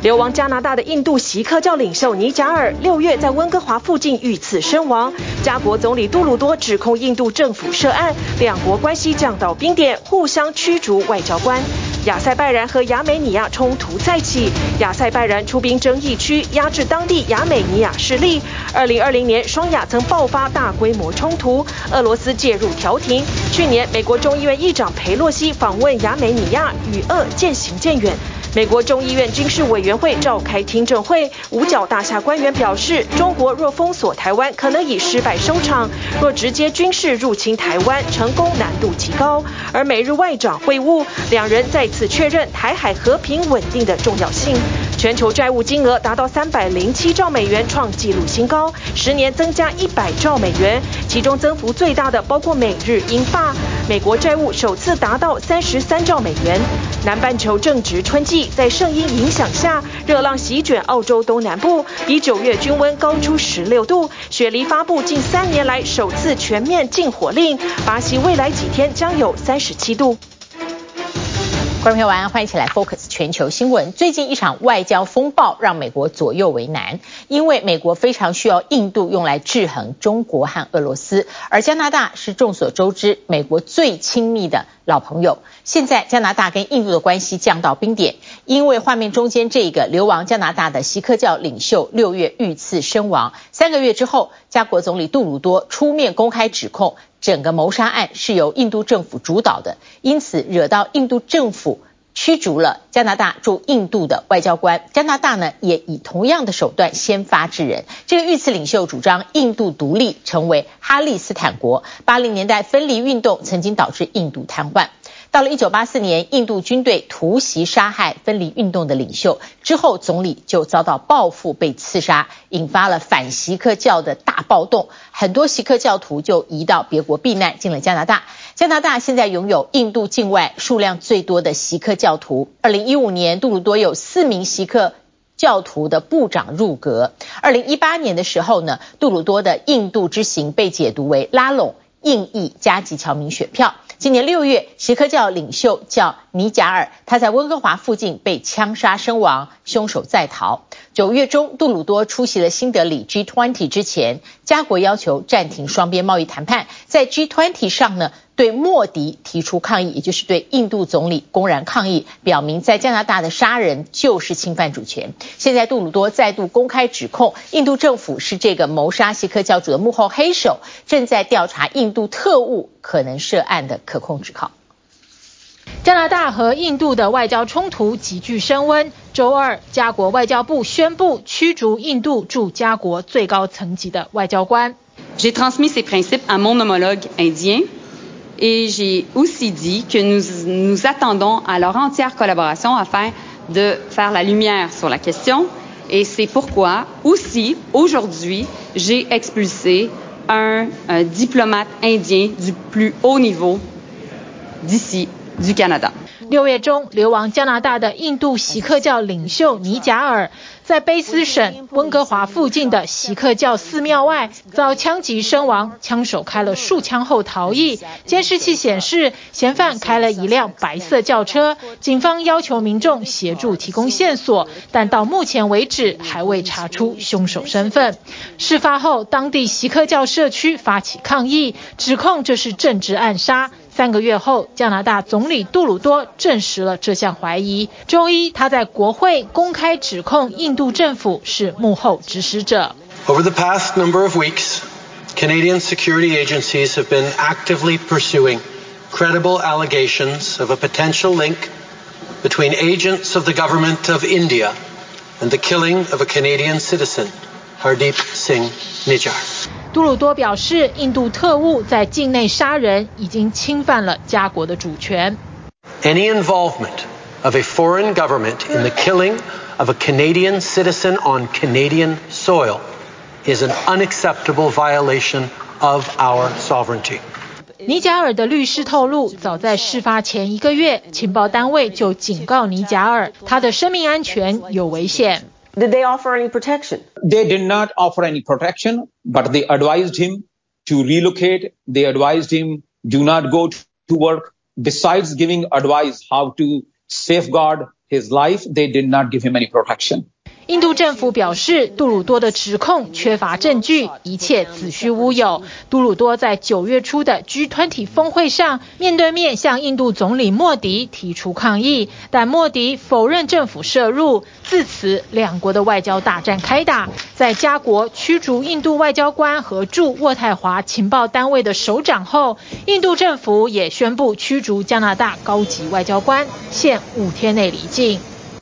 流亡加拿大的印度錫克教領袖尼賈爾6月在溫哥華附近遇刺身亡。加國總理杜魯多指控印度政府涉案，兩國關係降到冰點，互相驅逐外交官。亞塞拜然和亞美尼亞衝突再起，亞塞拜然出兵爭議區，壓制當地亞美尼亞勢力。2020年，雙亞曾爆發大規模衝突，俄羅斯介入調停。去年，美國眾議院議長裴洛西訪問亞美尼亞，與俄漸行漸遠。美國眾議院軍事委員會召開聽證會，五角大廈官員表示，中國若封鎖台灣，可能以失敗收場；若直接軍事入侵台灣，成功難度極高。而美日外長會晤，兩人再次確認台海和平穩定的重要性。全球債務金額達到307兆美元，創紀錄新高，10年增加100兆美元，其中增幅最大的包括美日英法。美國債務首次達到33兆美元。南半球正值春季，在聖嬰影響下，熱浪席捲澳洲東南部，比9月均溫高出16度。雪梨發布近3年來首次全面禁火令，巴西未來幾天將有37度。 觀眾朋友晚安，歡迎一起來 Focus 全球新聞。最近一場外交風暴讓美國左右為難，因為美國非常需要印度用來制衡中國和俄羅斯，而加拿大是眾所周知美國最親密的老朋友。現在加拿大跟印度的關係降到冰點，因為畫面中間這個流亡加拿大的錫克教領袖6月遇刺身亡，3個月之後，加國總理杜魯多出面公開指控整個謀殺案是由印度政府主導的，因此惹到印度政府驅逐了加拿大駐印度的外交官。加拿大呢也以同樣的手段先發制人。這個遇刺領袖主張印度獨立，成為哈利斯坦國。80年代分離運動曾經導致印度癱瘓。到了1984年，印度軍隊突襲殺害分離運動的領袖之後，總理就遭到報復被刺殺，引發了反錫克教的大暴動，很多錫克教徒就移到別國避難，進了加拿大。加拿大現在擁有印度境外數量最多的錫克教徒。2015年，杜魯多有4名錫克教徒的部長入閣。2018年的時候呢，杜魯多的印度之行被解讀為拉攏印裔加籍僑民選票。今年6月，錫克教領袖叫尼賈爾，他在溫哥華附近被槍殺身亡，兇手在逃。9月中，杜魯多出席了新德里 G20 之前，加國要求暫停雙邊貿易談判。在 G20 上呢，對莫迪提出抗議，也就是對印度總理公然抗議，表明在加拿大的殺人就是侵犯主權。現在杜魯多再度公開指控印度政府是這個謀殺錫克教主的幕後黑手，正在調查印度特務可能涉案的可控指控。 加拿大和印度的外交衝突急劇升溫。周二，加國外交部宣布驅逐印度駐加國最高層級的外交官。 J'ai transmis ces principes à mon homologue indien et j'ai aussi dit que nous attendons à leur entière collaboration afin de faire la lumière sur la question. Et c'est pourquoi aussi aujourd'hui j'ai expulsé un diplomate indien du plus haut niveau d'ici du Canada. 6月中，流亡加拿大的印度錫克教領袖尼賈爾，在卑斯省溫哥華附近的錫克教寺廟外遭槍擊身亡，槍手開了數槍後逃逸。監視器顯示，嫌犯開了一輛白色轎車。警方要求民眾協助提供線索，但到目前為止還未查出兇手身份。事發後，當地錫克教社區發起抗議，指控這是政治暗殺。3個月後，加拿大總理杜魯多證實了這項懷疑。周一，他在國會公開指控印度政府是幕後指使者。 Over the past number of weeks, Canadian security agencies have been actively pursuing credible allegations of a potential link between agents of the government of India and the killing of a Canadian citizen, Hardeep Singh Nijjar. 杜魯多表示，印度特務在境內殺人已經侵犯了加國的主權。 Any involvement of a foreign government in the killing of a Canadian citizen on Canadian soil is an unacceptable violation of our sovereignty. 尼賈爾的律師透露，早在事發前1個月，情報單位就警告尼賈爾，他的生命安全有危險。 Did they offer any protection? They did not offer any protection, but they advised him to relocate. They advised him do not go to work. Besides giving advice how to safeguard his life, they did not give him any protection. 印度政府表示，杜魯多的指控缺乏證據，一切子虛烏有。杜魯多在9月初的 G20 峰會上面對面向印度總理莫迪提出抗議，但莫迪否認政府涉入。自此，兩國的外交大戰開打。在加國驅逐印度外交官和駐渥太華情報單位的首長後，印度政府也宣布驅逐加拿大高級外交官，限5天內離境。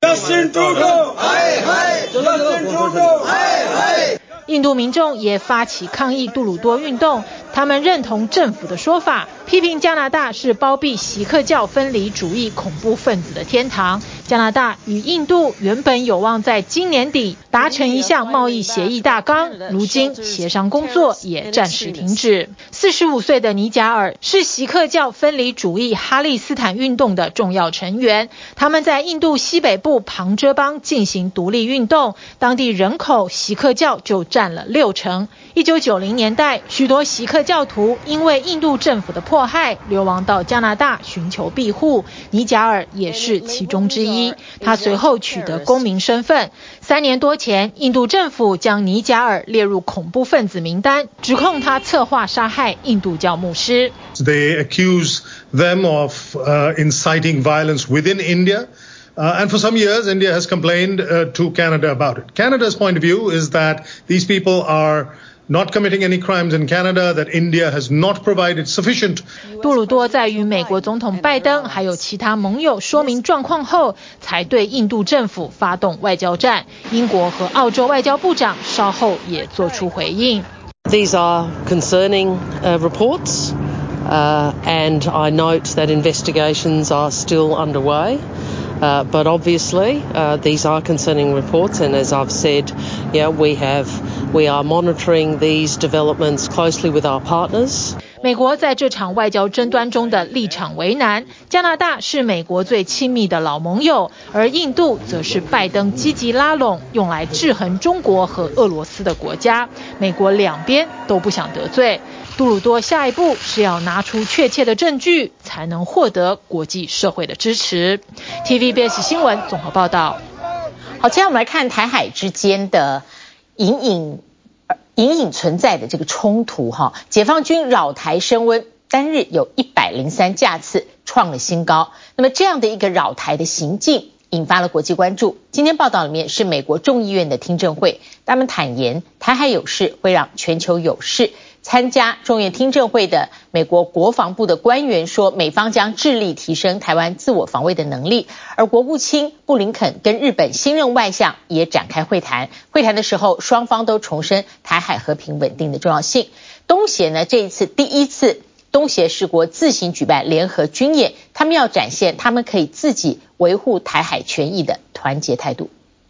印度民眾也發起抗議杜魯多運動，他們認同政府的說法，批評加拿大是包庇錫克教分離主義恐怖分子的天堂。加拿大與印度原本有望在今年底達成一項貿易協議大綱，如今協商工作也暫時停止。45歲的尼賈爾是錫克教分離主義哈利斯坦運動的重要成員，他們在印度西北部旁遮邦進行獨立運動，當地人口錫克教就佔了60%。1990年代，許多錫克教徒因為印度政府的迫害，流亡到加拿大尋求庇護，尼賈爾也是其中之一。他隨後取得公民身份。3年多前，印度政府將尼賈爾列入恐怖分子名單，指控他策劃殺害印度教牧師。 They accuse them of inciting violence within India. And for some years, India has complained to Canada about it. Canada's point of view is that these people are not committing any crimes in Canada, that India has not provided sufficient. 杜魯多在與美國總統拜登還有其他盟友說明狀況後，才對印度政府發動外交戰。英國和澳洲外交部長稍後也做出回應。 These are concerning reports, and I note that investigations are still underway. But obviously, these are concerning reports, and as I've said, we are monitoring these developments closely with our partners. 美國在這場外交爭端中的立場為難，加拿大是美國最親密的老盟友，而印度則是拜登積極拉攏用來制衡中國和俄羅斯的國家，美國兩邊都不想得罪。杜魯多下一步是要拿出確切的證據，才能獲得國際社會的支持。TVBS 新聞綜合報道。 好，接下來我們來看台海之間的隱隱存在的這個衝突哈，解放軍擾台升溫，單日有103架次創了新高。那麼這樣的一個擾台的行徑引發了國際關注。今天報道裡面是美國眾議院的聽證會，他們坦言台海有事會讓全球有事。參加眾議院聽證會的美國國防部的官員說，美方將致力提升台灣自我防衛的能力，而國務卿布林肯跟日本新任外相也展開會談。會談的時候，雙方都重申台海和平穩定的重要性。東協呢，這一次第一次東協十國自行舉辦聯合軍演，他們要展現他們可以自己維護台海權益的團結態度。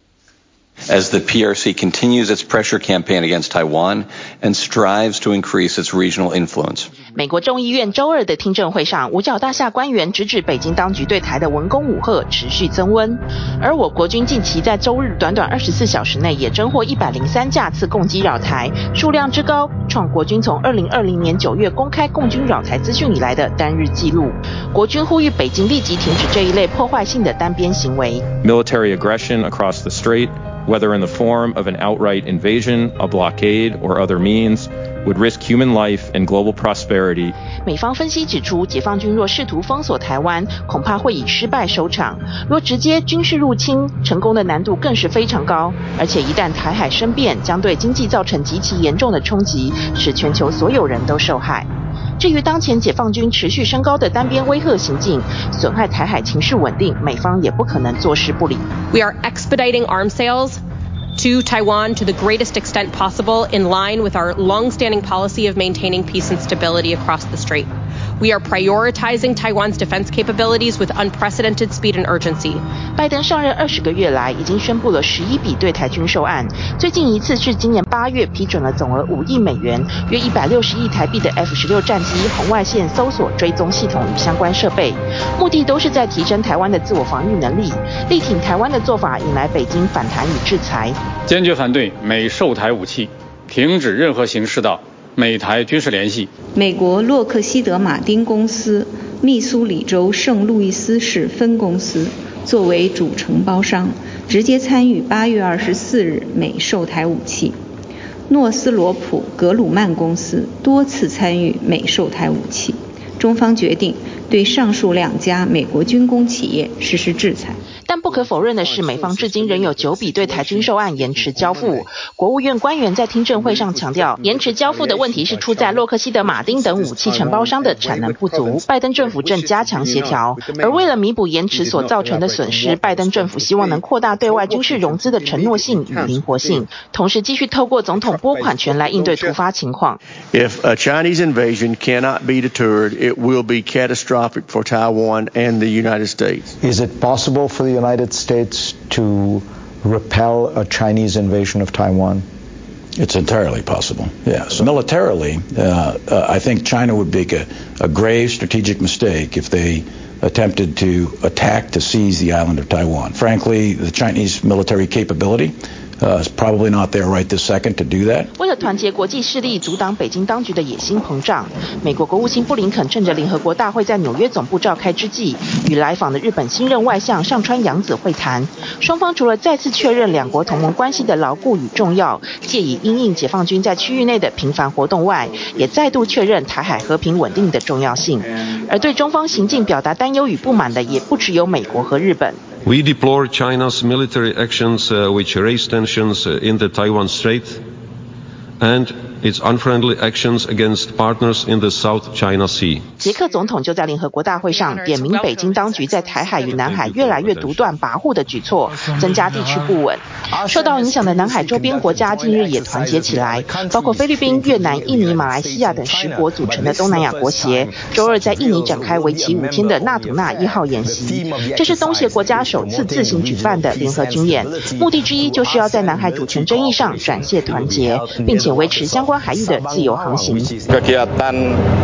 As the PRC continues its pressure campaign against Taiwan and strives to increase its regional influence. 美國眾議院週二的聽證會上，五角大廈官員直指北京當局對台的文攻武嚇持續增溫，而我國軍近期在週日短短24小時內也偵獲103架次共機擾台，數量之高，創國軍從2020年9月公開共軍擾台資訊以來的單日紀錄。國軍呼籲北京立即停止這一類破壞性的單邊行為。 Military aggression across the strait, whether in the form of an outright invasion, a blockade, or other means, would risk human life and global prosperity. 美方分析指出，解放軍若試圖封鎖台灣，恐怕會以失敗收場；若直接軍事入侵，成功的難度更是非常高。而且一旦台海生變，將對經濟造成極其嚴重的衝擊，使全球所有人都受害。至於當前解放軍持續升高的單邊威嚇行徑，損害台海情勢穩定，美方也不可能坐視不理。 We are expediting arms sales to Taiwan to the greatest extent possible, in line with our long-standing policy of maintaining peace and stability across the strait. We are prioritizing Taiwan's defense capabilities with unprecedented speed and urgency. 拜登上任20個月來，已經宣布了11筆對台軍售案，最近一次是今年8月批准了總額5億美元，約160億台幣的 F-16戰機紅外線搜索追蹤系統與相關設備，目的都是在提升台灣的自我防禦能力。力挺台灣的做法引來北京反彈與制裁， 堅決反對美售台武器，停止任何形式的美台軍事聯繫。 美國洛克希德馬丁公司密蘇里州聖路易斯市分公司作為主承包商，直接參與8月24日美售台武器。諾斯羅普格魯曼公司多次參與美售台武器。中方決定對上述2家美國軍工企業實施制裁。 但不可否認的是，美方至今仍有9筆對台軍售案延遲交付。國務院官員在聽證會上強調，延遲交付的問題是出在洛克希德馬丁等武器承包商的產能不足，拜登政府正加強協調。而為了彌補延遲所造成的損失，拜登政府希望能擴大對外軍事融資的承諾性與靈活性，同時繼續透過總統撥款權來應對突發情況。 If a Chinese invasion cannot be deterred, it will be catastrophic for Taiwan and the United States. Is it possible for the United States to repel a Chinese invasion of Taiwan? It's entirely possible, yes. Militarily, I think China would make a grave strategic mistake if they attempted to attack to seize the island of Taiwan. Frankly, the Chinese military capability is probably not there right this second to do that. 為了團結國際勢力，阻擋北京當局的野心膨脹，美國國務卿布林肯趁着聯合國大會在紐約總部召開之際，與來訪的日本新任外相上川陽子會談。雙方除了再次確認兩國同盟關係的牢固與重要，借以因應解放軍在區域內的頻繁活動外，也再度確認台海和平穩定的重要性。而對中方行徑表達擔憂與不滿的，也不只有美國和日本。 We deplore China's military actions which raise tensions in the Taiwan Strait and its unfriendly actions against partners in the South China Sea. 捷克總統就在聯合國大會上點名北京當局在台海與南海越來越獨斷跋扈的舉措，增加地區不穩。受到影響的南海周邊國家近日也團結起來，包括菲律賓、越南、印尼、馬來西亞等10國組成的東南亞國協，周二在印尼展開為期5天的納圖納1號演習。這是東協國家首次自行舉辦的聯合軍演，目的之一就是要在南海主權爭議上展現團結，並且維持相關海域的自由航行。 Kegiatan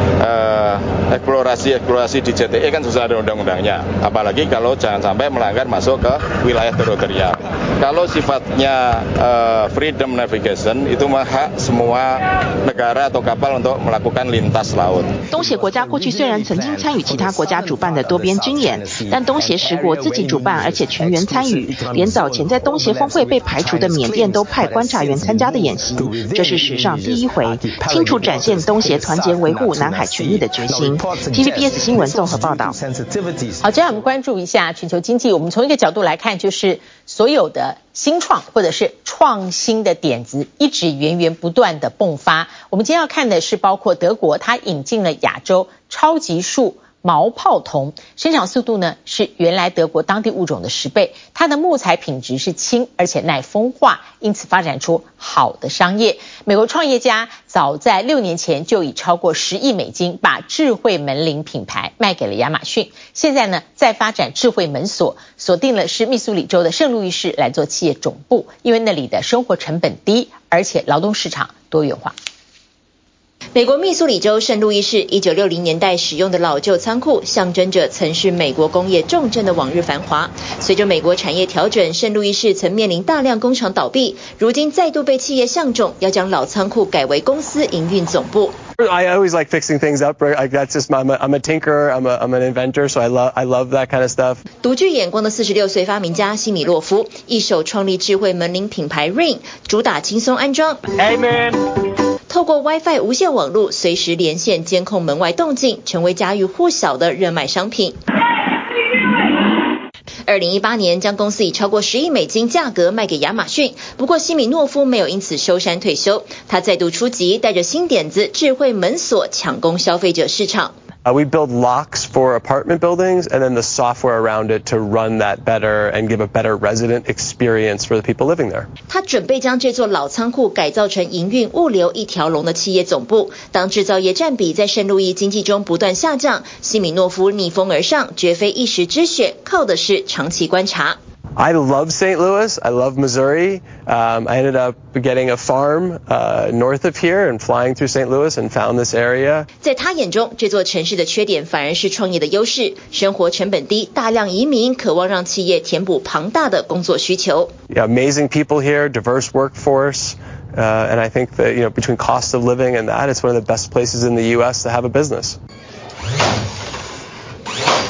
eksplorasi di JTE kan susah ada undang-undangnya, apalagi kalau jangan sampai melanggar masuk ke wilayah teritorial. Kalau sifatnya freedom navigation itu hak semua negara atau kapal untuk melakukan lintas laut. 東協國家過去雖然曾經參與其他國家主辦的多邊軍演，但東協10國自己主辦而且全員參與，連早前在東協峰會被排除的緬甸都派觀察員參加的演習，這是史上第一回，清楚展現東協團結維護南海權益的決心。TVBS 新聞綜合報道。 好，接下來我們關注一下全球經濟。我們從一個角度來看，就是所有的新創或者是創新的點子一直源源不斷的迸發。我們今天要看的是包括德國，它引進了亞洲超級樹毛泡桐，生長速度呢是原來德國當地物種的10倍，它的木材品質是輕而且耐風化，因此發展出好的商業。美國創業家早在6年前就以超過10億美金把智慧門鈴品牌賣給了亞馬遜，現在呢再發展智慧門鎖，鎖定了是密蘇里州的聖路易市來做企業總部，因為那裡的生活成本低，而且勞動市場多元化。 美國密蘇里州聖路易市1960年代使用的老舊倉庫，象徵着曾是美國工業重鎮的往日繁華。隨着美國產業調整，聖路易市曾面臨大量工廠倒閉，如今再度被企業相中，要將老倉庫改為公司營運總部。 I always like fixing things up. Right? That's just I'm a tinkerer. I'm an inventor, so I love that kind of stuff. 獨具眼光的46歲發明家西米洛夫，一手創立智慧門鈴品牌 Ring， 主打輕鬆安裝。Amen。透過 WiFi 無線網絡隨時連線監控門外動靜，成為家喻戶曉的熱賣商品。2018年將公司以超過10億美金價格賣給亞馬遜，不過西米諾夫沒有因此收山退休，他再度出擊，帶着新點子智慧門鎖搶攻消費者市場。 We build locks for apartment buildings and then the software around it to run that better and give a better resident experience for the people living there. 他準備將這座老倉庫改造成營運物流一條龍的企業總部。當製造業佔比在聖路易經濟中不斷下降，西米諾夫逆風而上，絕非一時之選，靠的是長期觀察。 I love St. Louis. I love Missouri. I ended up getting a farm north of here and flying through St. Louis and found this area. 在他眼中，這座城市的缺點反而是創業的優勢，生活成本低，大量移民，渴望讓企業填補龐大的工作需求。 Yeah, amazing people here, diverse workforce. And I think that, between cost of living and that, it's one of the best places in the U.S. to have a business.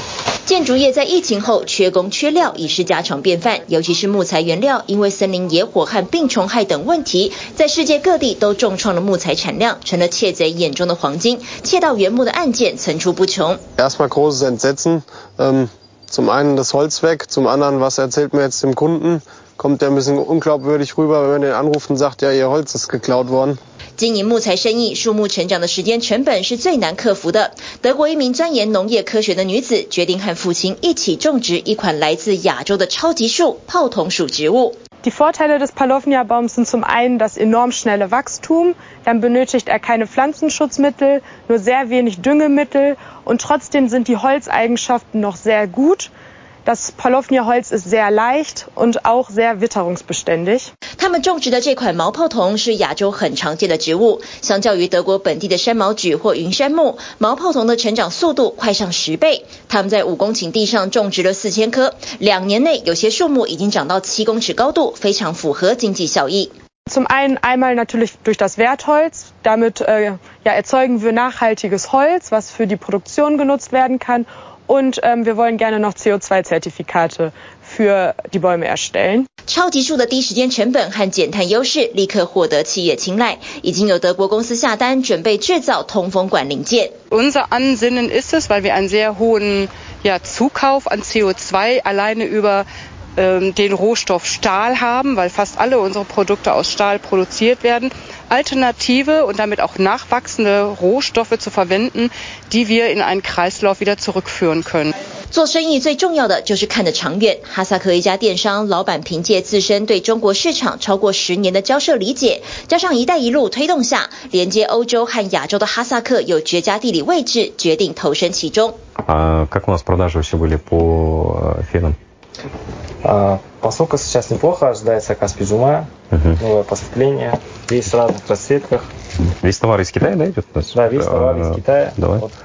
建築業在疫情後缺工缺料已是家常便飯，尤其是木材原料，因為森林野火和病蟲害等問題，在世界各地都重創了木材產量，成了竊賊眼中的黃金。竊盜原木的案件層出不窮。 Erstmal großes Entsetzen. Zum einen das Holz weg, zum anderen, was erzählt mir jetzt dem Kunden? Kommt der ein bisschen unglaubwürdig rüber, wenn man den anruft und sagt, ja, ihr Holz ist geklaut worden. 經營木材生意，樹木成長的時間成本是最難克服的。德國一名鑽研農業科學的女子，決定和父親一起種植一款來自亞洲的超級樹——泡桐屬植物。 Die Vorteile des Palovnia-Baums sind zum einen das enorm schnelle Wachstum, dann benötigt er keine Pflanzenschutzmittel, nur sehr wenig Düngemittel und trotzdem sind die Holzeigenschaften noch sehr gut. Das Palovnia-Holz ist sehr leicht und auch sehr witterungsbeständig. 他們種植的這款毛泡桐是亞洲很常見的植物，相較於德國本地的山毛櫸或雲杉木，毛泡桐的成長速度快上10倍。他們在5公頃地上種植了4000棵，2年內有些樹木已經長到7公尺高度，非常符合經濟效益。 Zum einen einmal natürlich durch das Wertholz. Damit erzeugen wir nachhaltiges Holz, was für die Produktion genutzt werden kann. Und wir wollen gerne noch CO2-Zertifikate für die Bäume erstellen. 超級樹的低時間成本和減碳優勢立刻獲得企業青睞，已經有德國公司下單準備製造通風管零件。 Unser Ansinnen ist es, weil wir einen sehr hohen Zukauf an CO2 alleine über den Rohstoff Stahl haben, weil fast alle unsere Produkte aus Stahl produziert werden, alternative und damit auch nachwachsende Rohstoffe zu verwenden, die wir in einen Kreislauf wieder zurückführen können. 做生意最重要的就是看得長遠。哈薩克一家電商老闆憑借自身對中國市場超過10年的交涉理解，加上一帶一路推動下，連接歐洲和亞洲的哈薩克有絕佳地理位置，決定投身其中。 Как у нас продажи вообще были по фенам? Посылка сейчас неплохо, ожидается Каспий Джума, новое поступление, есть в разных расцветках. Весь товар из Китая, да, идет у нас? Да, весь товар из Китая. Давай. Вот.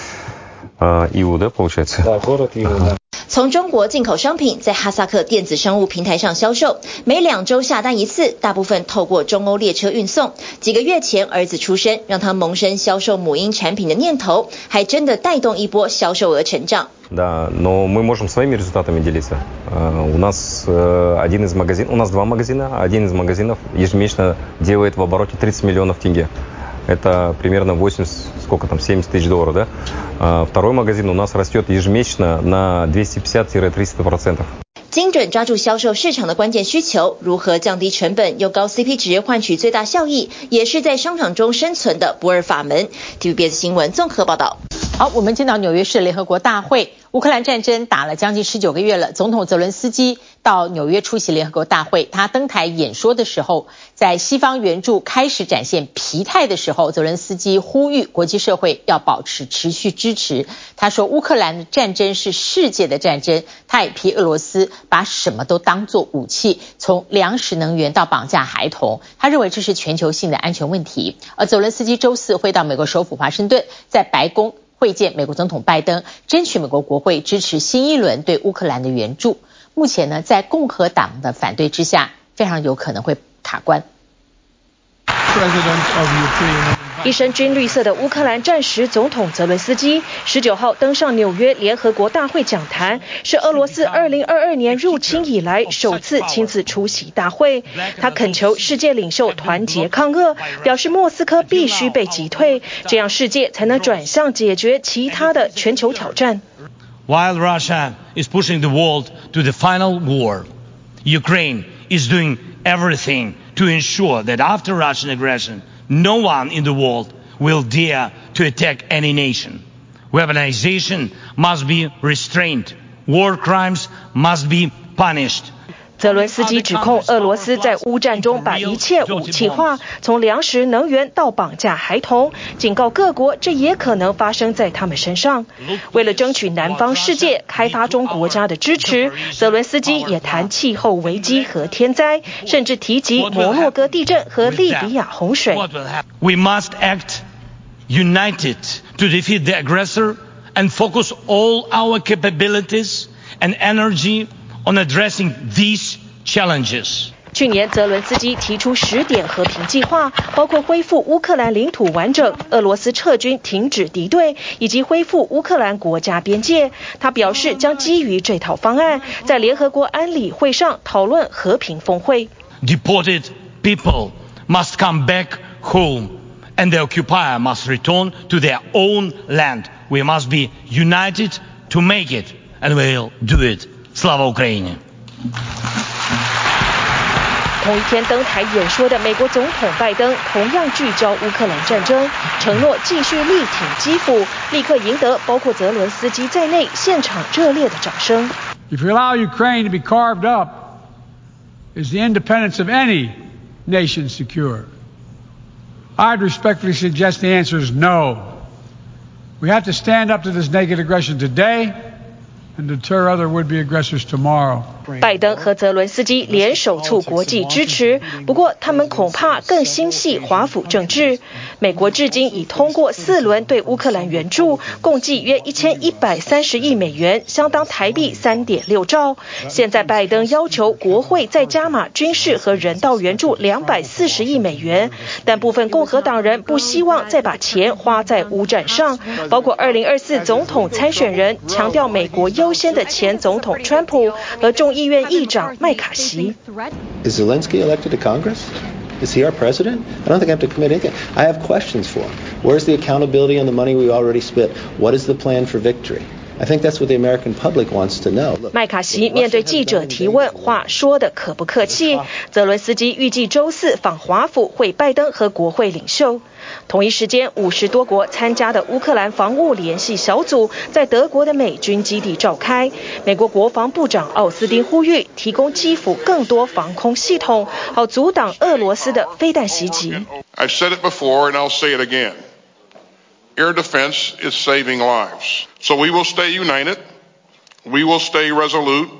Иу, да, получается? Да, город Иу, да. 從中國進口商品在哈薩克電子商務平台上銷售，每2週下單一次，大部分透過中歐列車運送。幾個月前兒子出生，讓他萌生銷售母嬰產品的念頭，還真的帶動一波銷售額成長。 Да, но мы можем своими результатами делиться. У нас у нас 2 магазина, один из магазинов ежемесячно делает в обороте 30 миллионов тенге. Это примерно 70 тысяч долларов, да? Второй магазин у нас растет ежемесячно на 250-300%. 精準抓住銷售市場的關鍵需求，如何降低成本，用高 CP 值換取最大效益，也是在商場中生存的不二法門。TVBS 新聞綜合報道。 好，我們進到紐約市聯合國大會。烏克蘭戰爭打了將近19個月了，總統澤倫斯基到紐約出席聯合國大會，他登台演說的時候，在西方援助開始展現疲態的時候，澤倫斯基呼籲國際社會要保持持續支持。他說烏克蘭的戰爭是世界的戰爭，他也批俄羅斯把什麼都當作武器，從糧食能源到綁架孩童，他認為這是全球性的安全問題。而澤倫斯基週4會到美國首府華盛頓，在白宮會見美國總統拜登，爭取美國國會支持新一輪對烏克蘭的援助。目前呢，在共和黨的反對之下，非常有可能會卡關。 一身軍綠色的烏克蘭戰時總統澤倫斯基19號登上紐約聯合國大會講壇，是俄羅斯2022年入侵以來首次親自出席大會。他懇求世界領袖團結抗俄，表示莫斯科必須被擊退，這樣世界才能轉向解決其他的全球挑戰。 While Russia is pushing the world to the final war, Ukraine is doing everything to ensure that after Russian aggression, no one in the world will dare to attack any nation. Weaponization must be restrained. War crimes must be punished. 澤倫斯基指控俄羅斯在烏戰中把一切武器化，從糧食、能源到綁架孩童，警告各國這也可能發生在他們身上。為了爭取南方世界開發中國家的支持，澤倫斯基也談氣候危機和天災，甚至提及摩洛哥地震和利比亞洪水。 We must act united to defeat the aggressor and focus all our capabilities and energy on addressing these challenges. 去年澤倫斯基提出10點和平計劃，包括恢復烏克蘭領土完整、俄羅斯撤軍、停止敵對以及恢復烏克蘭國家邊界。他表示將基於這套方案，在聯合國安理會上討論和平峰會。 Deported people must come back home, and the occupier must return to their own land. We must be united to make it, and we'll do it. Slava Ukraini! 同一天登台演說的美國總統拜登同樣聚焦烏克蘭戰爭，承諾繼續力挺基輔，立刻贏得包括澤倫斯基在內現場熱烈的掌聲。 If you allow Ukraine to be carved up, is the independence of any nation secure? I'd respectfully suggest the answer is no. We have to stand up to this naked aggression today and deter other would-be aggressors tomorrow. 拜登和澤倫斯基聯手促國際支持，不過他們恐怕更心繫華府政治。美國至今已通過4輪對烏克蘭援助，共計約1130億美元，相當台幣3.6兆。現在拜登要求國會再加碼軍事和人道援助240億美元，但部分共和黨人不希望再把錢花在烏戰上，包括2024總統參選人強調美國優先的前總統川普和眾議院議長麥卡錫。 Is Zelensky elected to Congress? Is he our president? I don't think I have to commit anything. I have questions for him. Where's the accountability on the money we already spent? What is the plan for victory? I think that's what the American public wants to know. 麥卡錫面對記者提問，話說得可不客氣。澤倫斯基預計周4訪華府會拜登和國會領袖。同一時間，50多國參加的烏克蘭防務聯繫小組在德國的美軍基地召開。美國國防部長奧斯汀呼籲提供基輔更多防空系統，好阻擋俄羅斯的飛彈襲擊。 I've said it before and I'll say it again. Air defense is saving lives. So we will stay united, we will stay resolute,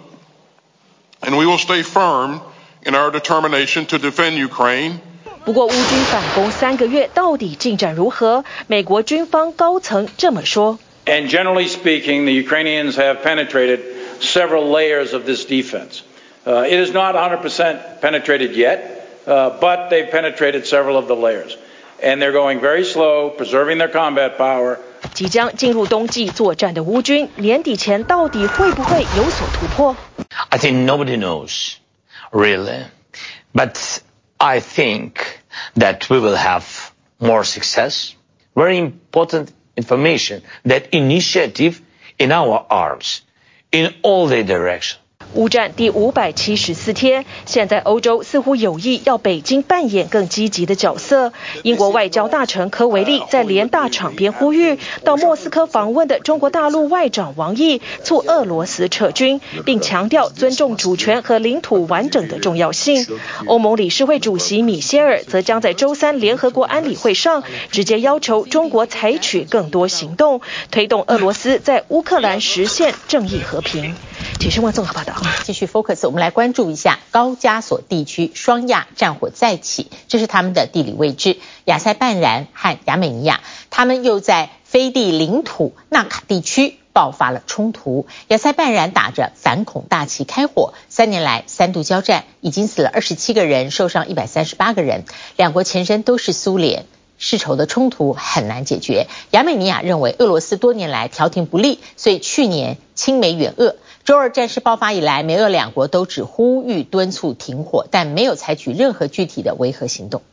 and we will stay firm in our determination to defend Ukraine. 不過烏軍反攻3個月到底進展如何？美國軍方高層這麼說。 And generally speaking, the Ukrainians have penetrated several layers of this defense. It is not 100% penetrated yet, but they've penetrated several of the layers. And they're going very slow, preserving their combat power. 即將進入冬季作戰的烏軍，年底前到底會不會有所突破？ I think nobody knows, really. But I think that we will have more success. Very important information, that initiative in our arms, in all the directions. 烏戰第574天，現在歐洲似乎有意要北京扮演更積極的角色。英國外交大臣科維利在聯大場邊呼籲，到莫斯科訪問的中國大陸外長王毅促俄羅斯撤軍，並強調尊重主權和領土完整的重要性。歐盟理事會主席米歇爾則將在週3聯合國安理會上直接要求中國採取更多行動，推動俄羅斯在烏克蘭實現正義和平。體新聞綜合報道。 繼續 focus， 我們來關注一下高加索地區雙亞戰火再起，這是他們的地理位置。亞塞拜然和亞美尼亞，他們又在飛地領土納卡地區爆發了衝突。亞塞拜然打着反恐大旗開火，3年來3度交戰，已經死了27個人，受傷138個人。兩國前身都是蘇聯，世仇的衝突很難解決。亞美尼亞認為俄羅斯多年來調停不力，所以去年親美遠俄。週二戰事爆發以來，美俄兩國都只呼籲敦促停火，但沒有採取任何具體的維和行動。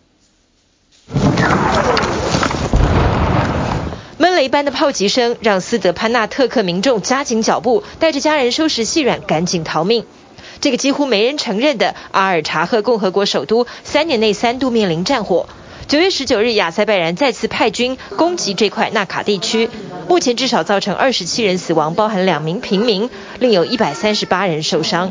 悶雷般的炮擊聲讓斯德潘納特克民眾加緊腳步，帶着家人收拾細軟，趕緊逃命。這個幾乎沒人承認的阿爾察赫共和國首都，3年內3度面臨戰火。9月19日，亞塞拜然再次派軍攻擊這塊納卡地區，目前至少造成27人死亡，包含2名平民，另有138人受傷。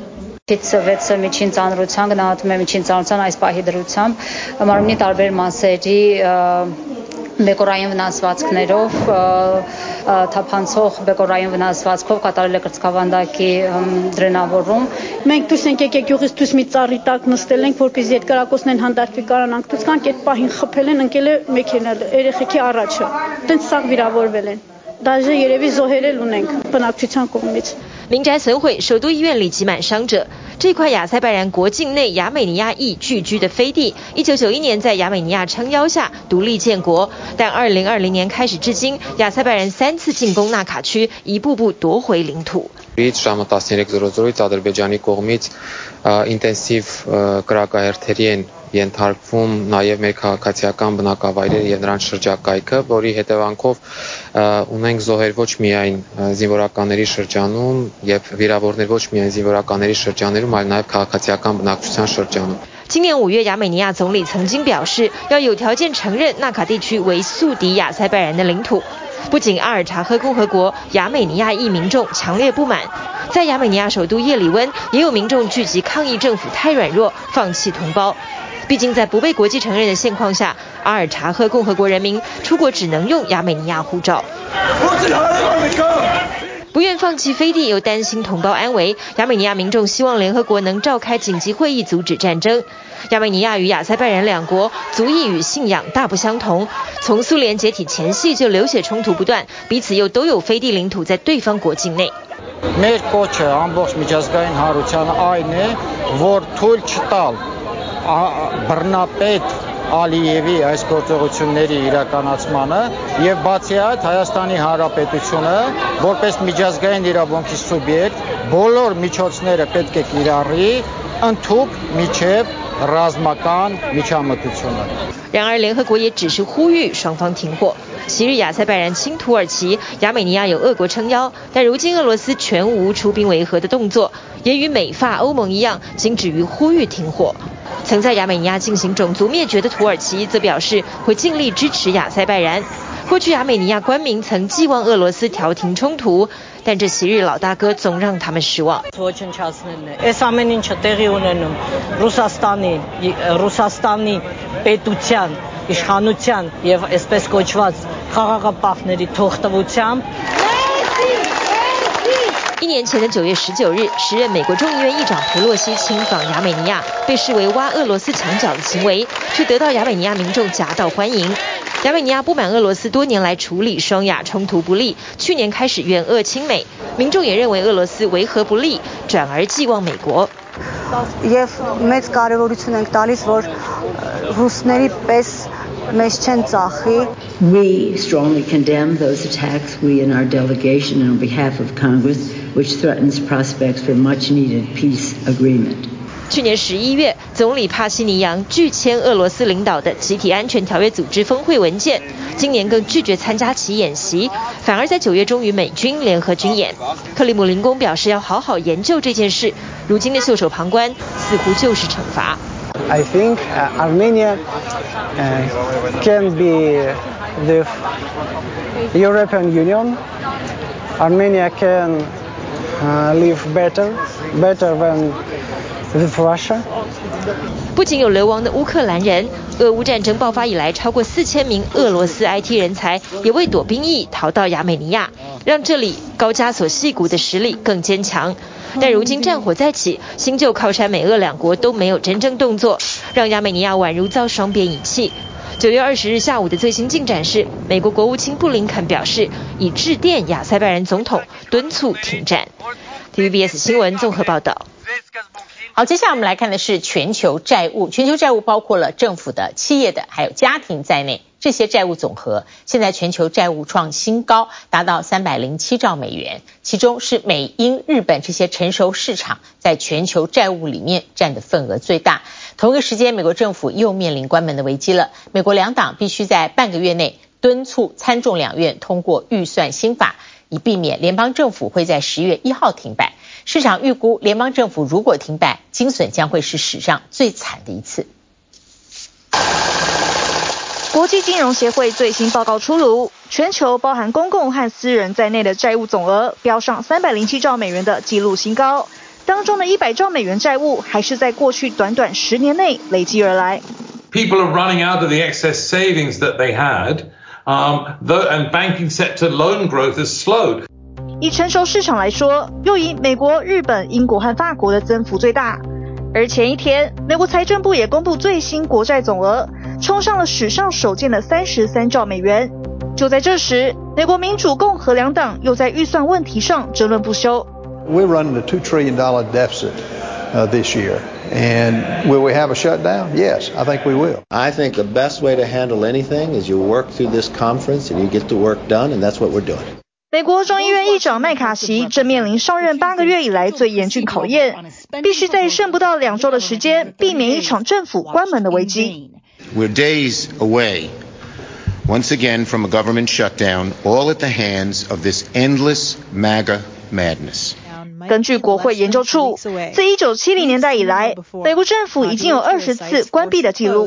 բեկորային վնասվածքներով թափանցող բեկորային վնասվածքով կատարել է կրծքավանդակի դրենավորում։ Մենք դուրս ենք եկել գյուղից դուրս մի ծառի տակ նստել ենք, որպեսզի այդ կրակոցներն հանդարտվի կարանանք դուրս գանք, այդ պահին խփել են, ընկել է մեքենան, երեխեքի առաջը։ Տենց սաղ վիրավորվել են։ Դաժե երևի զոհեր էլ ունենք բնակչության կողմից։ 民宅損毀，首都醫院裡擠滿傷者。 這塊亞塞拜然國境內亞美尼亞裔聚居的飛地，1991年在亞美尼亞撐腰下獨立建國，但2020年開始至今，亞塞拜然3次進攻納卡區，一步步奪回領土。 ժամը 13:00-ից Ադրբեջանի կողմից ինտենսիվ կրակահերթերի են ենթարկվում նաև մեր քաղաքացիական բնակավայրերը եւ նրանց շրջակայքը, որի հետևանքով ունենք զոհեր ոչ միայն զինվորականների շրջանում եւ վիրավորներ ոչ միայն զինվորականների շրջաններում, այլ նաև քաղաքացիական բնակչության շրջանում。 今年5月，亞美尼亞總理曾經表示，要有條件承認納卡地區為宿敵亞塞拜然的領土。不僅阿爾察赫共和國亞美尼亞裔民眾強烈不滿，在亞美尼亞首都葉里溫，也有民眾聚集抗議政府太軟弱，放棄同胞。畢竟在不被國際承認的現況下，阿爾察赫共和國人民出國只能用亞美尼亞護照。不願放棄飛地，又擔心同胞安危，亞美尼亞民眾希望聯合國能召開緊急會議阻止戰爭。亞美尼亞與亞塞拜然兩國族裔與信仰大不相同，從蘇聯解體前夕就流血衝突不斷，彼此又都有飛地領土在對方國境內。 Մեր կոչը ամբողջ միջազգային հանրությանը այն է, որ թույլ չտալ բռնապետ Ալիևի այս գործողությունների իրականացմանը եւ բացի այդ Հայաստանի Հանրապետությունը որպես միջազգային իրավունքի սուբյեկտ բոլոր միջոցները պետք է կիրառի ընդհուպ միջև ռազմական միջամտությունը。 然而，聯合國也只是呼籲雙方停火。昔日亞塞拜然親土耳其，亞美尼亞有俄國撐腰，但如今俄羅斯全無出兵維和的動作，也與美法歐盟一樣，僅止於呼籲停火。曾在亞美尼亞進行種族滅絕的土耳其則表示會盡力支持亞塞拜然。過去亞美尼亞官民曾寄望俄羅斯調停衝突，但這昔日老大哥總讓他們失望。 Այս ամեն ինչը տեղի ունենում Ռուսաստանի պետության, իշխանության եւ այսպես կոչված խաղաղապահների թողտվությամբ。 1年前的9月19日，時任美國眾議院議長裴洛西親訪亞美尼亞，被視為挖俄羅斯牆角的行為，卻得到亞美尼亞民眾夾道歡迎。亞美尼亞不滿俄羅斯多年來處理雙亞衝突不力，去年開始遠俄親美，民眾也認為俄羅斯維和不力，轉而寄望美國。 Եվ մեծ կարևորություն ենք տալիս, որ ռուսների պես մեզ չեն ծախի։ We strongly condemn those attacks. We in our delegation and on behalf of Congress, which threatens prospects for much needed peace agreement. 去年11月，總理帕西尼揚拒簽俄羅斯領導的集體安全條約組織峰會文件，今年更拒絕參加其演習，反而在9月中與美軍聯合軍演。克里姆林宮表示要好好研究這件事，如今的袖手旁觀似乎就是懲罰。 I think Armenia can be the European Union. Armenia can live better than with Russia. 不僅有流亡的烏克蘭人，俄烏戰爭爆發以來，超過4000名俄羅斯 IT 人才也為躲兵役逃到亞美尼亞，讓這裡高加索矽谷的實力更堅強。但如今戰火再起，新舊靠山美俄兩國都沒有真正動作，讓亞美尼亞宛如遭雙邊遺棄。9月20日下午的最新進展是，美國國務卿布林肯表示，已致電亞塞拜然總統敦促停戰。TVBS 新聞綜合報道。 好，接下來我們來看的是全球債務。全球債務包括了政府的、企業的，還有家庭在內，這些債務總和，現在全球債務創新高，達到307兆美元。其中是美、英、日本這些成熟市場在全球債務裡面佔的份額最大。同一個時間，美國政府又面臨關門的危機了。美國兩黨必須在半個月內敦促參眾兩院通過預算新法，以避免聯邦政府會在10月1號停擺。市場預估，聯邦政府如果停擺，驚損將會是史上最慘的一次。 國際金融協會最新報告出爐，全球包含公共和私人在內的債務總額飆上307兆美元的紀錄新高，當中的100兆美元債務還是在過去短短10年內累積而來。 People are running out of the excess savings that they had, and banking sector loan growth has slowed. 以成熟市場來說，又以美國、日本、英國和法國的增幅最大。而前一天，美國財政部也公布最新國債總額，衝上了史上首見的33兆美元。就在這時，美國民主、共和兩黨又在預算問題上爭論不休。 We're running a $2 trillion deficit this year. And will we have a shutdown? Yes, I think we will. I think the best way to handle anything is you work through this conference and you get the work done, and that's what we're doing. 美国众議院議長麥卡錫正面臨上任8個月以來最嚴峻考驗，必須在剩不到2週的時間，避免一場政府關門的危機。 We're days away, once again, from a government shutdown, all at the hands of this endless MAGA madness. 根据国會研究處，自1970年代以來，美國政府已經有20次關閉的記錄。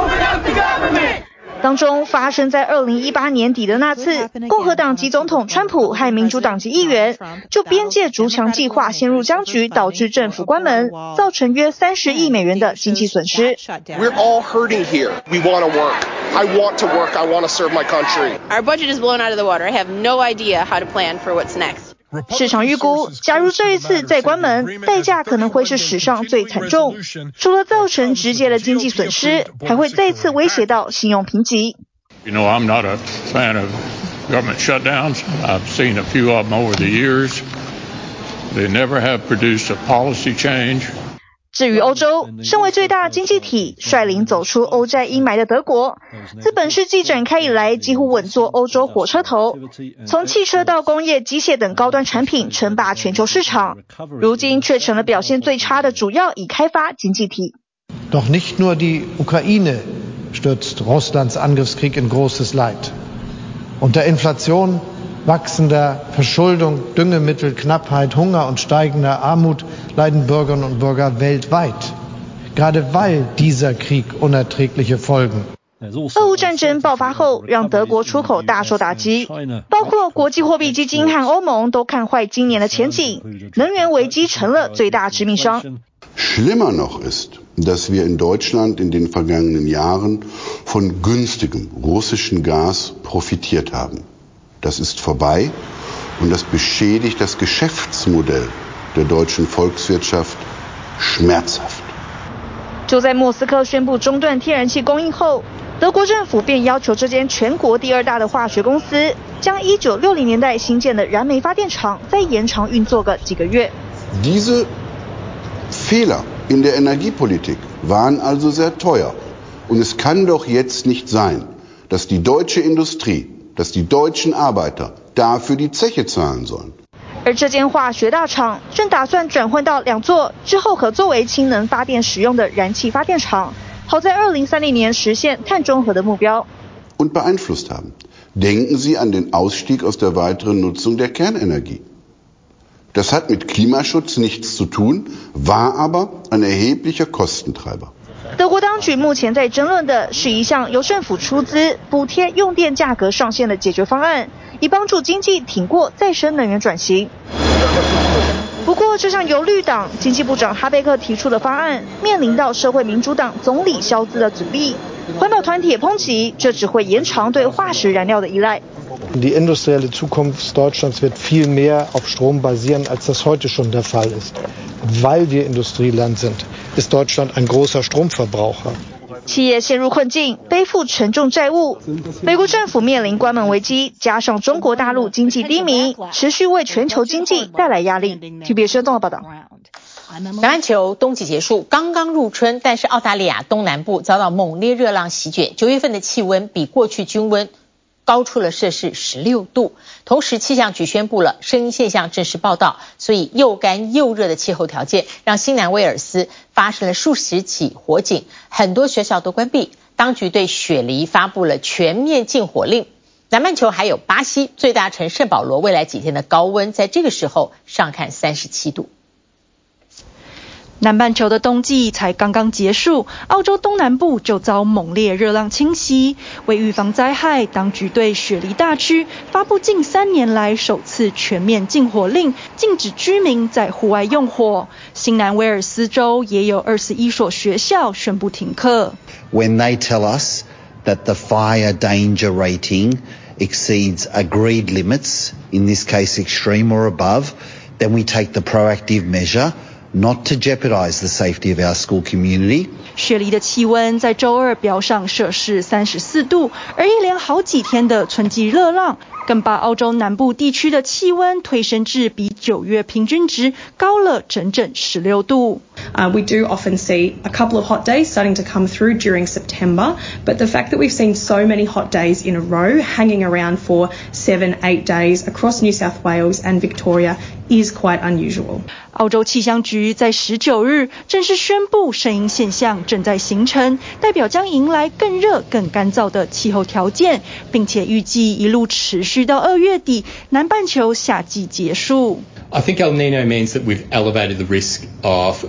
當中發生在2018年底的那次，共和黨籍總統川普和民主黨籍議員就邊界築牆計劃陷入僵局，導致政府關門，造成約30億美元的經濟損失。 We're all hurting here. We want to work. I want to work. I want to serve my country. Our budget is blown out of the water. I have no idea how to plan for what's next. 市場預估，假如這一次再關門，代價可能會是史上最慘重。除了造成直接的經濟損失，還會再次威脅到信用評級。 You know, I'm not a fan of government shutdowns. I've seen a few of them over the years. They never have produced a policy change. 至於歐洲，身為最大經濟體，率領走出歐債陰霾的德國，自本世紀展開以來，幾乎穩坐歐洲火車頭，從汽車到工業、機械等高端產品稱霸全球市場，如今卻成了表現最差的主要已開發經濟體。 Doch nicht nur die Ukraine stürzt Russlands Angriffskrieg in großes Leid. Unter Inflation, wachsender Verschuldung, Düngemittelknappheit, Hunger und steigender Armut leiden Bürgerinnen und Bürger weltweit, gerade weil dieser Krieg unerträgliche Folgen. 俄烏戰爭爆發後，讓德國出口大受打擊，包括國際貨幣基金和歐盟都看壞今年的前景，能源危機成了最大致命傷。 Schlimmer noch ist, dass wir in Deutschland in den vergangenen Jahren von günstigem russischen Gas profitiert haben. Das ist vorbei und das beschädigt das Geschäftsmodell der deutschen Volkswirtschaft schmerzhaft. 就在莫斯科宣布中斷天然氣供應後，德國政府便要求這間全國第2大的化學公司將1960年代新建的燃煤發電廠再延長運作個幾個月。 Diese Fehler in der Energiepolitik waren also sehr teuer. Und es kann doch jetzt nicht sein, dass die deutsche Industrie, dass die deutschen Arbeiter dafür die Zeche zahlen sollen. 而這間化學大廠正打算轉換到2座之後可作為氫能發電使用的燃氣發電廠，好在2030年實現碳中和的目標。 Und beeinflusst haben. Denken Sie an den Ausstieg aus der weiteren Nutzung der Kernenergie. Das hat mit Klimaschutz nichts zu tun, war aber ein erheblicher Kostentreiber. 德國當局目前在爭論的是一項由政府出資補貼用電價格上限的解決方案，以幫助經濟挺過再生能源轉型。不過，這項由綠黨經濟部長哈貝克提出的方案，面臨到社會民主黨總理肖茲的阻力。環保團體也抨擊，這只會延長對化石燃料的依賴。 Die industrielle Zukunft Deutschlands wird viel mehr auf Strom basieren, als das heute schon der Fall ist. Weil wir Industrieland sind, ist Deutschland ein großer Stromverbraucher. 企業陷入困境，背負沉重債務。美國政府面臨關門危機，加上中國大陸經濟低迷，持續為全球經濟帶來壓力。TBS 綜合報道。 橄欖球冬季結束，剛剛入春，但是澳大利亞東南部遭到猛烈熱浪席捲，9月份的氣溫比過去均溫高出了攝氏16度，同時氣象局宣布了聲音現象正式報道，所以又乾又熱的氣候條件讓新南威爾斯發生了數十起火警，很多學校都關閉，當局對雪梨發布了全面禁火令。南半球還有巴西最大城聖保羅，未來幾天的高溫在這個時候上看37度。 南半球的冬季才剛剛結束，澳洲東南部就遭猛烈熱浪侵襲。為預防災害，當局對雪梨大區發布近3年來首次全面禁火令，禁止居民在戶外用火。新南威爾斯州也有21所學校宣布停課。 When they tell us that the fire danger rating exceeds agreed limits, in this case extreme or above, then we take the proactive measure not to jeopardize the safety of our school community. 雪梨的气温在周二飆上摄氏34度，而一连好几天的春季热浪更把澳洲南部地区的气温推升至比9月平均值高了整整16度。 We do often see a couple of hot days starting to come through during September, but the fact that we've seen so many hot days in a row hanging around for 7-8 days across New South Wales and Victoria is quite unusual. 澳洲气象局在19日正式宣布圣婴现象正在形成，代表将迎来更热更干燥的气候条件，并且預計一路持續到2月底，南半球夏季結束。 I think El Nino means that we've elevated the risk of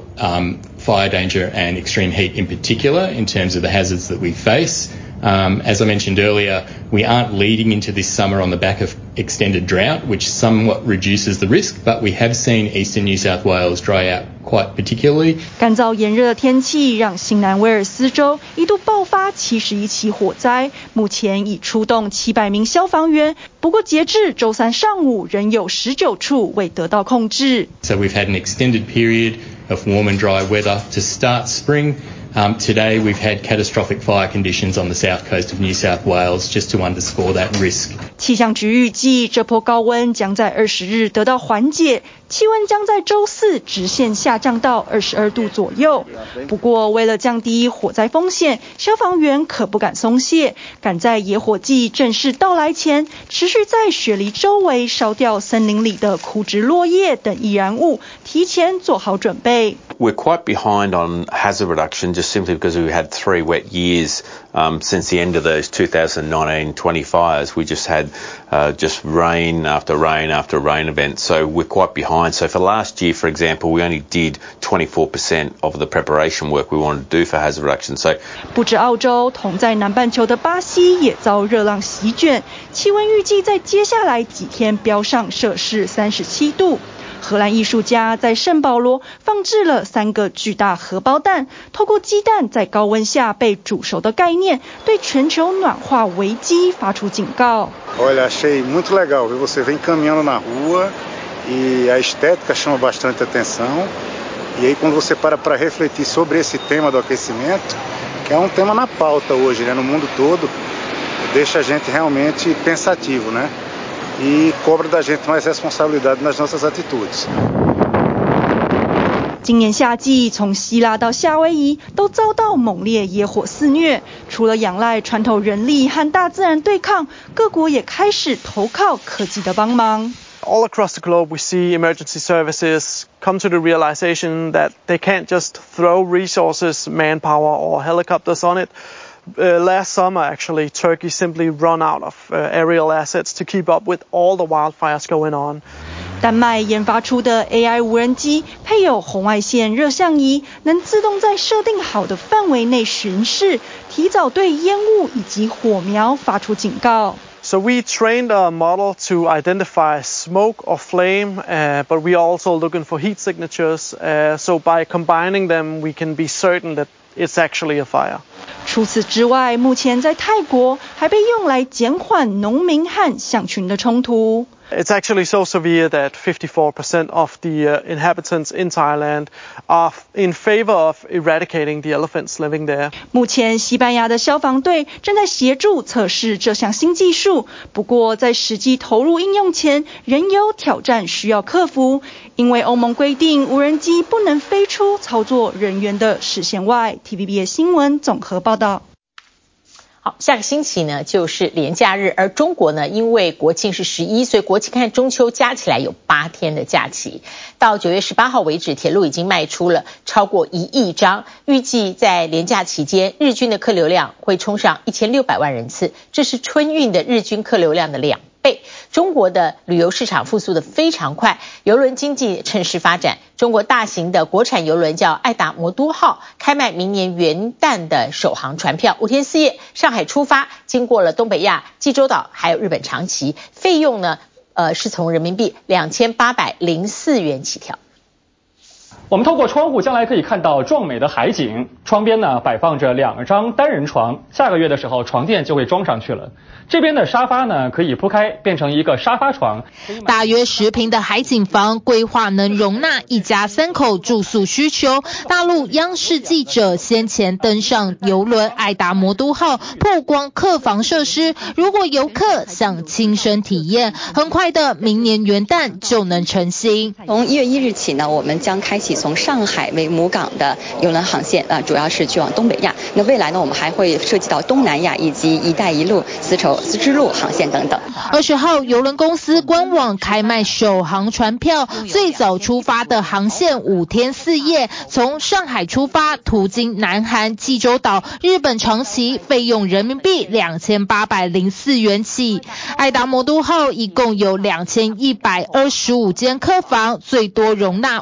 fire danger and extreme heat in particular in terms of the hazards that we face. As I mentioned earlier, we aren't leading into this summer on the back of extended drought, which somewhat reduces the risk, but we have seen eastern New South Wales dry out quite particularly. 干燥炎热的天氣讓新南威爾斯州一度爆發71起火災，目前已出動700名消防員，不過截至周三上午仍有19處未得到控制。 So we've had an extended period of warm and dry weather to start spring. Today we've had catastrophic fire conditions on the south coast of New South Wales, just to underscore that risk. 氣象局預計這波高溫將在20日得到緩解，氣溫將在周四直線下降到22度左右。不過為了降低火災風險，消防員可不敢鬆懈，趕在野火季正式到來前，持續在雪梨周圍燒掉森林裡的枯枝落葉等易燃物，提前做好準備。 We're quite behind on hazard reduction just simply because we've had 3 wet years since the end of those 2019-20 fires. We just had just rain after rain after rain events, so we're quite behind. So for last year, for example, we only did 24% of the preparation work we wanted to do for hazard reduction. So 不止澳洲，同在南半球的巴西也遭熱浪席捲，氣溫預計在接下來幾天飆上攝氏37度。荷蘭藝術家在聖保羅放置了3個巨大荷包蛋，透過雞蛋在高溫下被煮熟的概念，對全球暖化危機發出警告。 Olha, achei muito legal ver você vem caminhando na rua e a estética chama bastante atenção. E aí quando você para refletir sobre esse tema do aquecimento, que é tema na pauta hoje, né, no mundo todo, deixa a gente realmente pensativo, né? E cobra da gente mais responsabilidade nas nossas atitudes. 今年夏季，從希臘到夏威夷都遭到猛烈野火肆虐。除了仰賴船頭人力和大自然對抗，各國也開始投靠科技的幫忙。 All across the globe, we see emergency services come to the realization that they can't just throw resources, manpower, or helicopters on it. Last summer, actually, Turkey simply run out of aerial assets to keep up with all the wildfires going on. 丹麥研發出的 AI 無人機配有紅外線熱像儀，能自動在設定好的範圍內巡視，提早對煙霧以及火苗發出警告。 So we trained a model to identify smoke or flame, but we are also looking for heat signatures. So by combining them, we can be certain that it's actually a fire. 除此之外，目前在泰國還被用來減緩農民和象群的衝突。 It's actually so severe that 54% of the inhabitants in Thailand are in favor of eradicating the elephants living there. 目前，西班牙的消防隊正在協助測試這項新技術，不過在實際投入應用前，仍有挑戰需要克服。因為歐盟規定，無人機不能飛出操作人員的視線外。TVBS 新聞綜合報道。 好，下個星期呢就是連假日，而中國呢因為國慶是11，所以國慶和中秋加起來有8天的假期。到9月18號為止，鐵路已經賣出了超過1億張，預計在連假期間，日均的客流量會衝上1600萬人次，這是春運的日均客流量的2倍。中國的旅遊市場復甦得非常快，郵輪經濟趁勢發展。中國大型的國產郵輪叫愛達魔都號，開賣明年元旦的首航船票，5天4夜，上海出發，經過了東北亞、濟州島還有日本長崎，費用呢是從人民幣2804元起跳。 我們透過窗戶將來可以看到壯美的海景，窗邊呢擺放着2張單人床，下個月的時候床墊就會裝上去了。這邊的沙發呢可以鋪開變成一個沙發床。 大約10坪的海景房規劃能容納一家3口住宿需求。大陸央視記者先前登上郵輪愛達魔都號曝光客房設施，如果遊客想親身體驗，很快的明年元旦就能成行。 從1月1日起呢，我們將開啟從上海為母港的郵輪航線，主要是去往東北亞。那未來呢，我們還會涉及到東南亞以及一帶一路絲綢之路航線等等。 20號郵輪公司官網開賣首航船票，最早出發的航線5天4夜，從上海出發，途經南韓、濟州島、日本長崎，費用人民幣2804元起。愛達魔都號一共有2125間客房，最多容納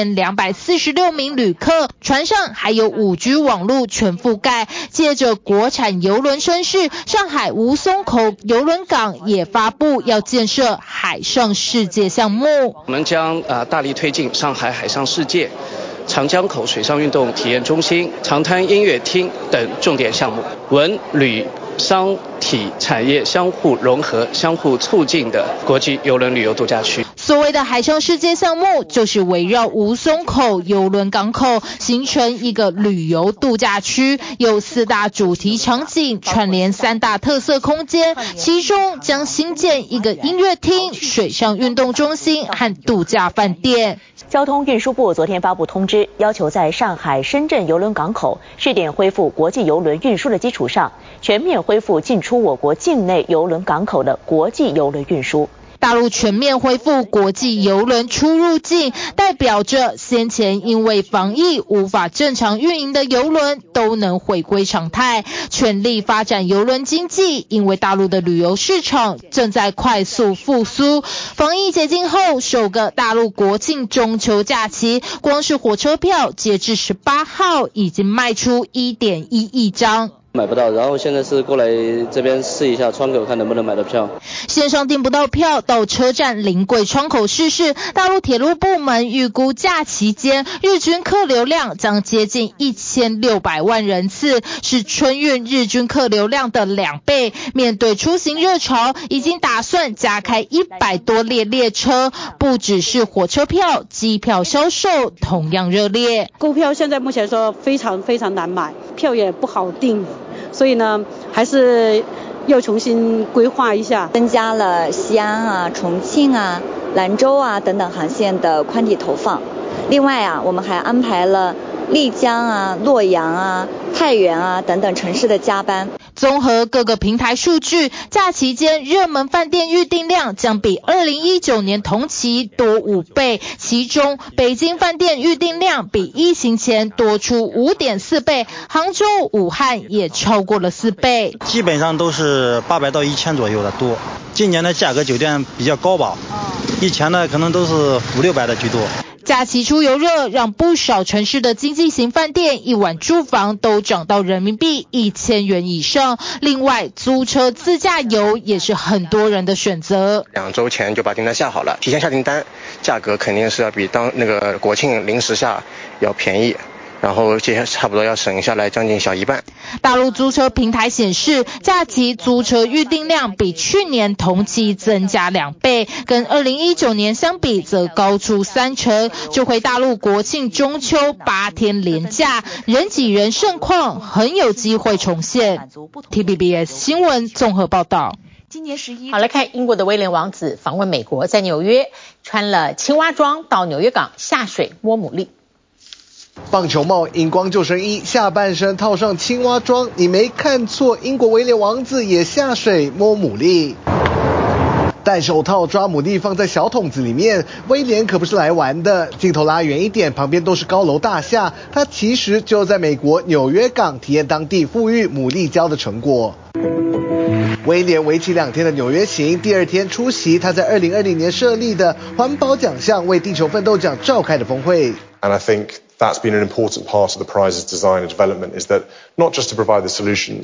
5246名旅客，船上還有5G 網絡全覆蓋。借着國產郵輪聲勢，上海吳淞口郵輪港也發布要建設海上世界項目。 我們將大力推進上海海上世界、長江口水上運動體驗中心、長灘音樂廳等重點項目，文旅商體產業相互融合、相互促進的國際郵輪旅遊度假區。 所謂的海上世界項目，就是圍繞吳淞口郵輪港口形成一個旅遊度假區，有4大主題場景，串聯3大特色空間，其中將新建一個音樂廳、水上運動中心和度假飯店。 交通運輸部昨天發布通知，要求在上海、深圳郵輪港口試點恢復國際郵輪運輸的基礎上，全面恢復進出我國境內郵輪港口的國際郵輪運輸。 大陸全面恢復國際郵輪出入境，代表着先前因為防疫無法正常運營的郵輪都能回歸常態，全力發展郵輪經濟。因為大陸的旅遊市場正在快速復甦，防疫解禁後首個大陸國慶中秋假期，光是火車票截至18號已經賣出1.1億張。 買不到，然後現在是過來這邊試一下窗口，看能不能買到票。 線上訂不到票，到車站臨櫃窗口試試。大陸鐵路部門預估假期間日均客流量將接近1600萬人次，是春運日均客流量的2倍。面對出行熱潮，已經打算加開100多列列車，不只是火車票，機票銷售同樣熱烈。 購票現在目前說非常非常難買，票也不好訂。所以呢，還是要重新規劃一下， 增加了西安啊、重慶啊、蘭州啊等等航線的寬體投放。另外啊，我們還安排了麗江啊、洛陽啊、太原啊等等城市的加班。 綜合各個平台數據，假期間熱門飯店預訂量將比2019年同期多5倍，其中北京飯店預訂量比疫情前多出5.4倍，杭州、武漢也超過了4倍。 基本上都是800到1000左右的多。今年的價格酒店比較高吧，以前呢可能都是500-600的居多。 假期出遊熱，讓不少城市的經濟型飯店一晚住房都漲到人民幣1000元以上。另外，租車自駕遊也是很多人的選擇。 2週前就把訂單下好了，提前下訂單，價格肯定是要比那個國慶臨時下要便宜。然後接下來差不多要省下來將近小1半。 大陸租車平台顯示，假期租車預訂量比去年同期增加2倍，跟2019年相比則高出3成。這回大陸國慶中秋8天連假，人擠人盛況很有機會重現。TVBS 新聞綜合報道。 好，來看英國的威廉王子訪問美國，在紐約穿了青蛙裝到紐約港下水摸牡蠣。 棒球帽、熒光救生衣，下半身套上青蛙裝，你沒看錯，英國威廉王子也下水摸牡蠣。戴手套抓牡蠣放在小桶子裡面，威廉可不是來玩的。鏡頭拉遠一點，旁邊都是高樓大廈，他其實就在美國紐約港體驗當地富裕牡蠣礁的成果。威廉為期2天的紐約行，第2天出席他在2020年設立的環保獎項為地球奮鬥獎召開的峰會。 And I think that's been an important part of the prize's design and development, is that not just to provide the solutions,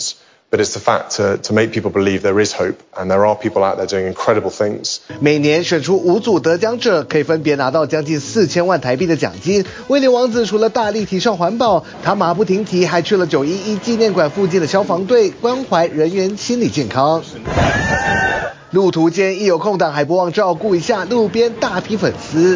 But it's the fact to make people believe there is hope, and there are people out there doing incredible things. 每年选出5組得獎者，可以分別拿到將近4000萬台幣的獎金。威廉王子除了大力提倡環保，他馬不停蹄還去了911紀念館附近的消防隊，關懷人員心理健康。路途間一有空檔，還不忘照顧一下路邊大批粉絲。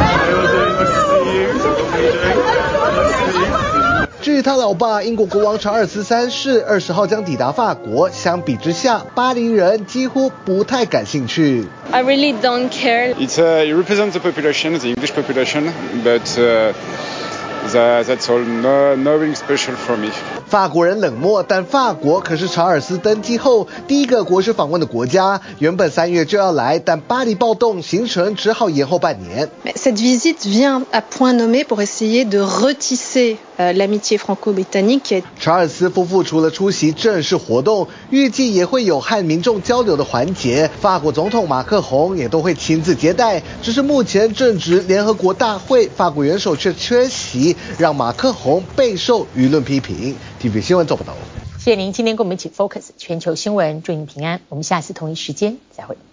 至於他老爸英國國王查爾斯3世20號將抵達法國，相比之下，巴黎人幾乎不太感興趣。 I really don't care. It represents the population, the English population, but that's all. Nothing special for me. 法國人冷漠，但法國可是查爾斯登基後第一個國事訪問的國家。原本3月就要來，但巴黎暴動，行程只好延後半年。 Cette visite vient à point nommé pour essayer de retisser l'amitié franco-britannique. 查爾斯夫婦除了出席正式活動，預計也會有和民眾交流的環節。法國總統馬克宏也都會親自接待。只是目前正值聯合國大會，法國元首卻缺席，讓馬克宏備受輿論批評。TVB 新聞做報道。 謝謝您今天跟我們一起 Focus 全球新聞，祝您平安。我們下次同一時間再會。